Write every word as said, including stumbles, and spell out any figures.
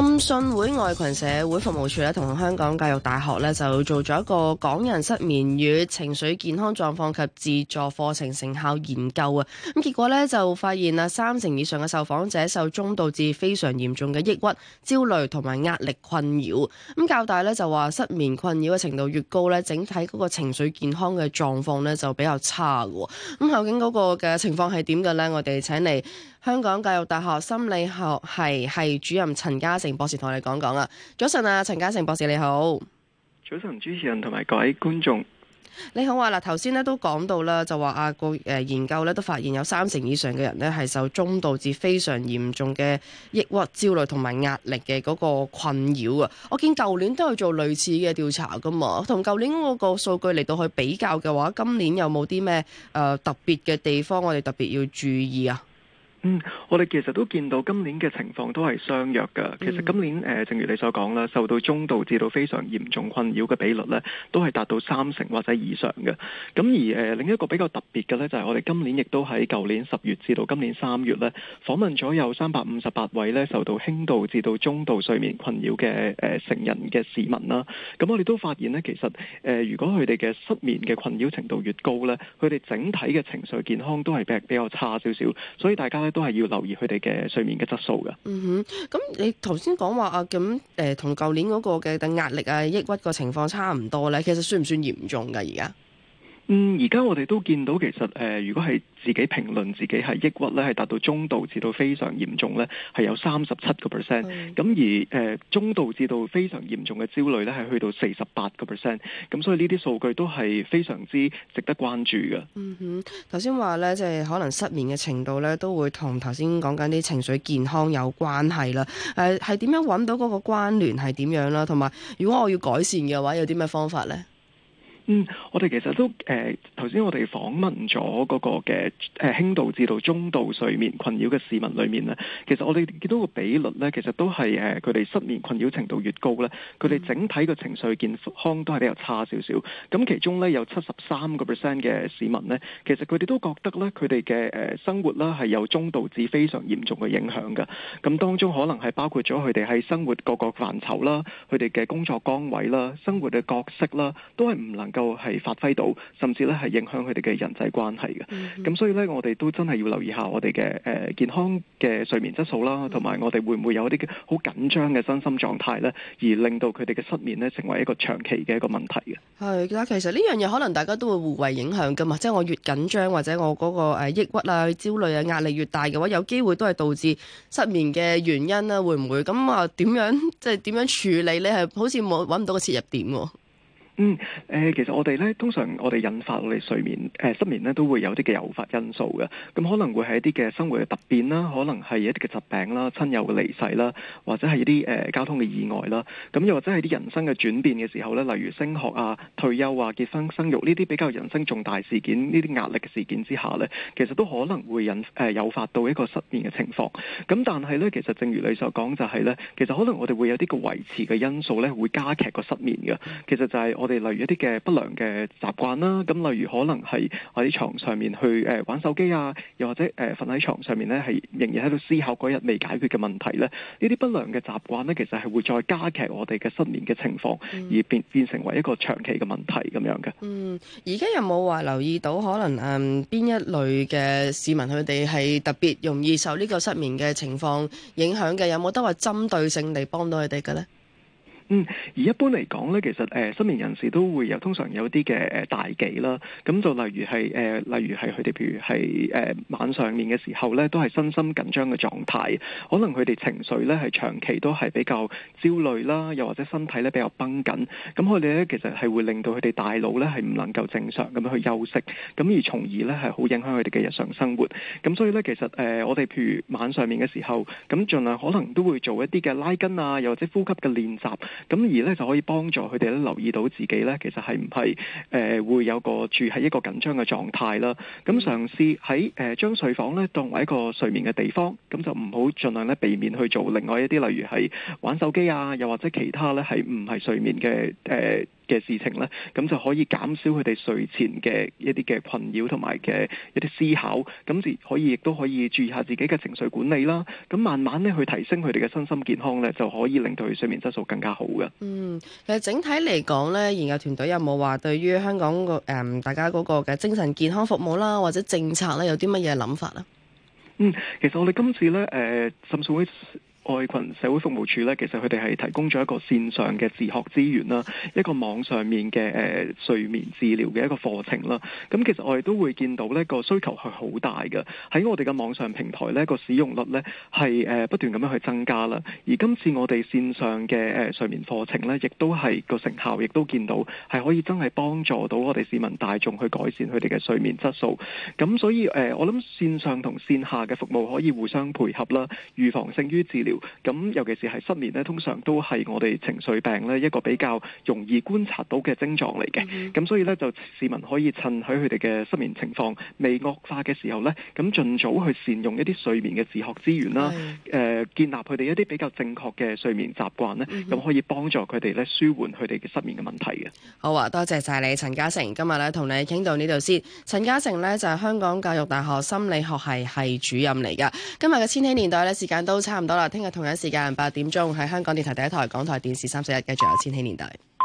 浸信會愛群社會服務處咧，同香港教育大學咧就做咗一個港人失眠與情緒健康狀況及自助課程成效研究啊。咁結果咧就發現啊，三成以上嘅受訪者受中度至非常嚴重嘅抑鬱、焦慮同埋壓力困擾。咁教大咧就話失眠困擾嘅程度越高咧，整體嗰個情緒健康嘅狀況咧就比較差嘅。咁究竟嗰個嘅情況係點嘅咧？我哋請嚟香港教育大學心理學系系主任陳嘉誠博士同我哋講講啊。早晨啊，陳嘉誠博士你好。 早晨，主持人同埋各位觀眾， 你好啊。嗱，頭先咧都講到啦，就話啊個誒研究咧都發現有三成以上嘅人咧係受中度至非常嚴重嘅抑鬱、焦慮同埋壓力嘅嗰個困擾啊。我見舊年都有做類似嘅調查噶嘛，同舊年嗰個數據嚟到去比較嘅話，今年有冇啲咩誒特別嘅地方我哋特別要注意啊？ 嗯，我哋其實都見到今年嘅情況都係相若㗎。其實今年誒、呃，正如你所講啦，受到中度至到非常嚴重困擾嘅比率呢，都係達到三成或者以上嘅。咁而誒、呃、另一個比較特別嘅呢，就係、是、我哋今年亦都喺舊年十月至到今年三月呢，訪問咗有三百五十八位呢受到輕度至到中度睡眠困擾嘅誒、呃、成人嘅市民啦。咁我哋都發現呢，其實誒、呃、如果佢哋嘅失眠嘅困擾程度越高呢，佢哋整體嘅情緒健康都係比比較差少少。所以大家都係要留意佢哋嘅睡眠嘅質素嘅。 嗯哼，咁你頭先講話啊，咁誒同舊年嗰個嘅壓力啊、抑鬱個情況差唔多咧，其實算唔算嚴重㗎而家？ 嗯，而家我哋都見到其實誒、呃，如果係自己評論自己係抑鬱咧，係達到中度至到非常嚴重咧，係有三十七個 percent。咁而誒、呃、中度至到非常嚴重嘅焦慮咧，係去到四十八個 percent。咁所以呢啲數據都係非常之值得關注嘅。 嗯哼，頭先話咧，即係可能失眠嘅程度咧，都會同頭先講緊啲情緒健康有關係啦。誒係點樣揾到嗰個關聯係點樣啦？同埋如果我要改善嘅話，有啲咩方法咧？ 嗯，我哋其實都誒頭先我哋訪問咗嗰個嘅誒、呃、輕度至到中度睡眠困擾嘅市民裏面咧，其實我哋見到個比率咧，其實都係誒佢哋失眠困擾程度越高咧，佢哋整體嘅情緒健康都係比較差少少。咁其中咧有七十三個 percent 嘅市民咧，其實佢哋都覺得咧佢哋嘅誒生活啦係有中度至非常嚴重嘅影響嘅。咁當中可能係包括咗佢哋喺生活各個範疇啦，佢哋嘅工作崗位啦、生活嘅角色啦，都係唔能夠係發揮到，甚至咧係影響佢哋嘅人際關係嘅。咁、mm-hmm. 所以咧，我哋都真係要留意下我哋嘅誒健康嘅睡眠質素啦，同埋我哋會唔會有一啲好緊張嘅身心狀態咧，而令到佢哋嘅失眠咧成為一個長期嘅一個問題嘅。 係，但其實呢樣嘢可能大家都會互為影響噶嘛，即係我越緊張或者我嗰個誒抑鬱啊、焦慮啊、壓力越大嘅話，有機會都係導致失眠嘅原因啦。會唔會咁啊？點樣即係點樣處理咧？係好似冇揾唔到個切入點喎。 嗯，誒、呃，其實我哋咧，通常我哋引發我哋睡眠誒、呃、失眠咧，都會有啲嘅誘發因素嘅。咁可能會係一啲嘅生活嘅突變啦，可能係一啲嘅疾病啦、親友嘅離世啦，或者係一啲誒、呃、交通嘅意外啦。咁又或者係啲人生嘅轉變嘅時候咧，例如升學啊、退休啊、結婚生育呢啲比較人生重大事件、呢啲壓力嘅事件之下咧，其實都可能會引誒、呃、誘發到一個失眠嘅情況。咁但係咧，其實正如你所講，就係咧，其實可能我哋會有啲嘅維持嘅因素咧，會加劇個失眠嘅。其實就係我。我哋例如一啲嘅不良嘅習慣啦，咁例如可能係喺床上面去誒玩手機啊，又或者誒瞓喺床上面咧，係仍然喺度思考嗰日未解決嘅問題咧，呢啲不良嘅習慣咧，其實係會再加劇我哋嘅失眠嘅情況，嗯、而變變成為一個長期嘅問題咁樣嘅。 嗯，而家有冇話留意到可能誒邊、嗯、一類嘅市民佢哋係特別容易受呢個失眠嘅情況影響嘅？有冇得話針對性地幫到佢哋嘅咧？ 嗯，而一般嚟講咧，其實誒、呃、失眠人士都會有通常有啲嘅誒大忌啦，咁就例如係誒、呃，例如係佢哋譬如係誒、呃、晚上面嘅時候咧，都係身心緊張嘅狀態，可能佢哋情緒咧係長期都係比較焦慮啦，又或者身體咧比較繃緊，咁佢哋咧其實係會令到佢哋大腦咧係唔能夠正常咁樣去休息，咁而從而咧係好影響佢哋嘅日常生活。咁所以咧其實誒、呃、我哋譬如晚上面嘅時候，咁盡量可能都會做一啲嘅拉筋啊，又或者呼吸嘅練習。咁而咧就可以幫助佢哋咧留意到自己咧，其實係唔係誒會有個住喺一個緊張嘅狀態啦。咁嘗試喺誒將睡房咧當為一個睡眠嘅地方，咁就唔好盡量咧避免去做另外一啲例如係玩手機啊，又或者其他咧係唔係睡眠嘅誒嘅事情咧，咁就可以減少佢哋睡前嘅一啲嘅困擾同埋嘅一啲思考，咁就可以亦都可以注意下自己嘅情緒管理啦。咁慢慢咧去提升佢哋嘅身心健康咧，就可以令到佢睡眠質素更加好嘅。 嗯，其實整體嚟講咧，研究團隊有冇話對於香港個誒、嗯、大家嗰個嘅精神健康服務啦，或者政策咧，有啲乜嘢諗法咧？ 嗯，其實我哋今次咧，誒、呃，甚至會。愛群社會服務處咧，其實佢哋係提供咗一個線上嘅自學資源啦，一個網上面嘅誒、呃、睡眠治療嘅一個課程啦。咁其實我哋都會見到呢個需求係好大嘅，喺我哋嘅網上平台呢個使用率呢係誒不斷咁樣去增加啦。而今次我哋線上嘅誒睡眠課程呢，亦都係個成效，亦都見到係可以真係幫助到我哋市民大眾去改善佢哋嘅睡眠質素。咁所以誒、呃，我諗線上同線下嘅服務可以互相配合啦，預防勝於治療。咁尤其是係失眠咧，通常都係我哋情緒病咧一個比較容易觀察到嘅症狀嚟嘅。咁、mm hmm. 所以咧，就市民可以趁喺佢哋嘅失眠情況未惡化嘅時候咧，咁盡早去善用一啲睡眠嘅自學資源啦。誒、mm hmm. 呃，建立佢哋一啲比較正確嘅睡眠習慣咧，咁、mm hmm. 可以幫助佢哋咧舒緩佢哋嘅失眠嘅問題嘅。 好啊，多謝晒你，陳嘉誠。今日咧同你傾到呢度先。陳嘉誠咧就係、是、香港教育大學心理學系系主任嚟㗎。今日嘅千禧年代咧時間都差唔多啦，聽日同樣時間八點鐘喺香港電台第一台、港台電視三十一繼續有千禧年代。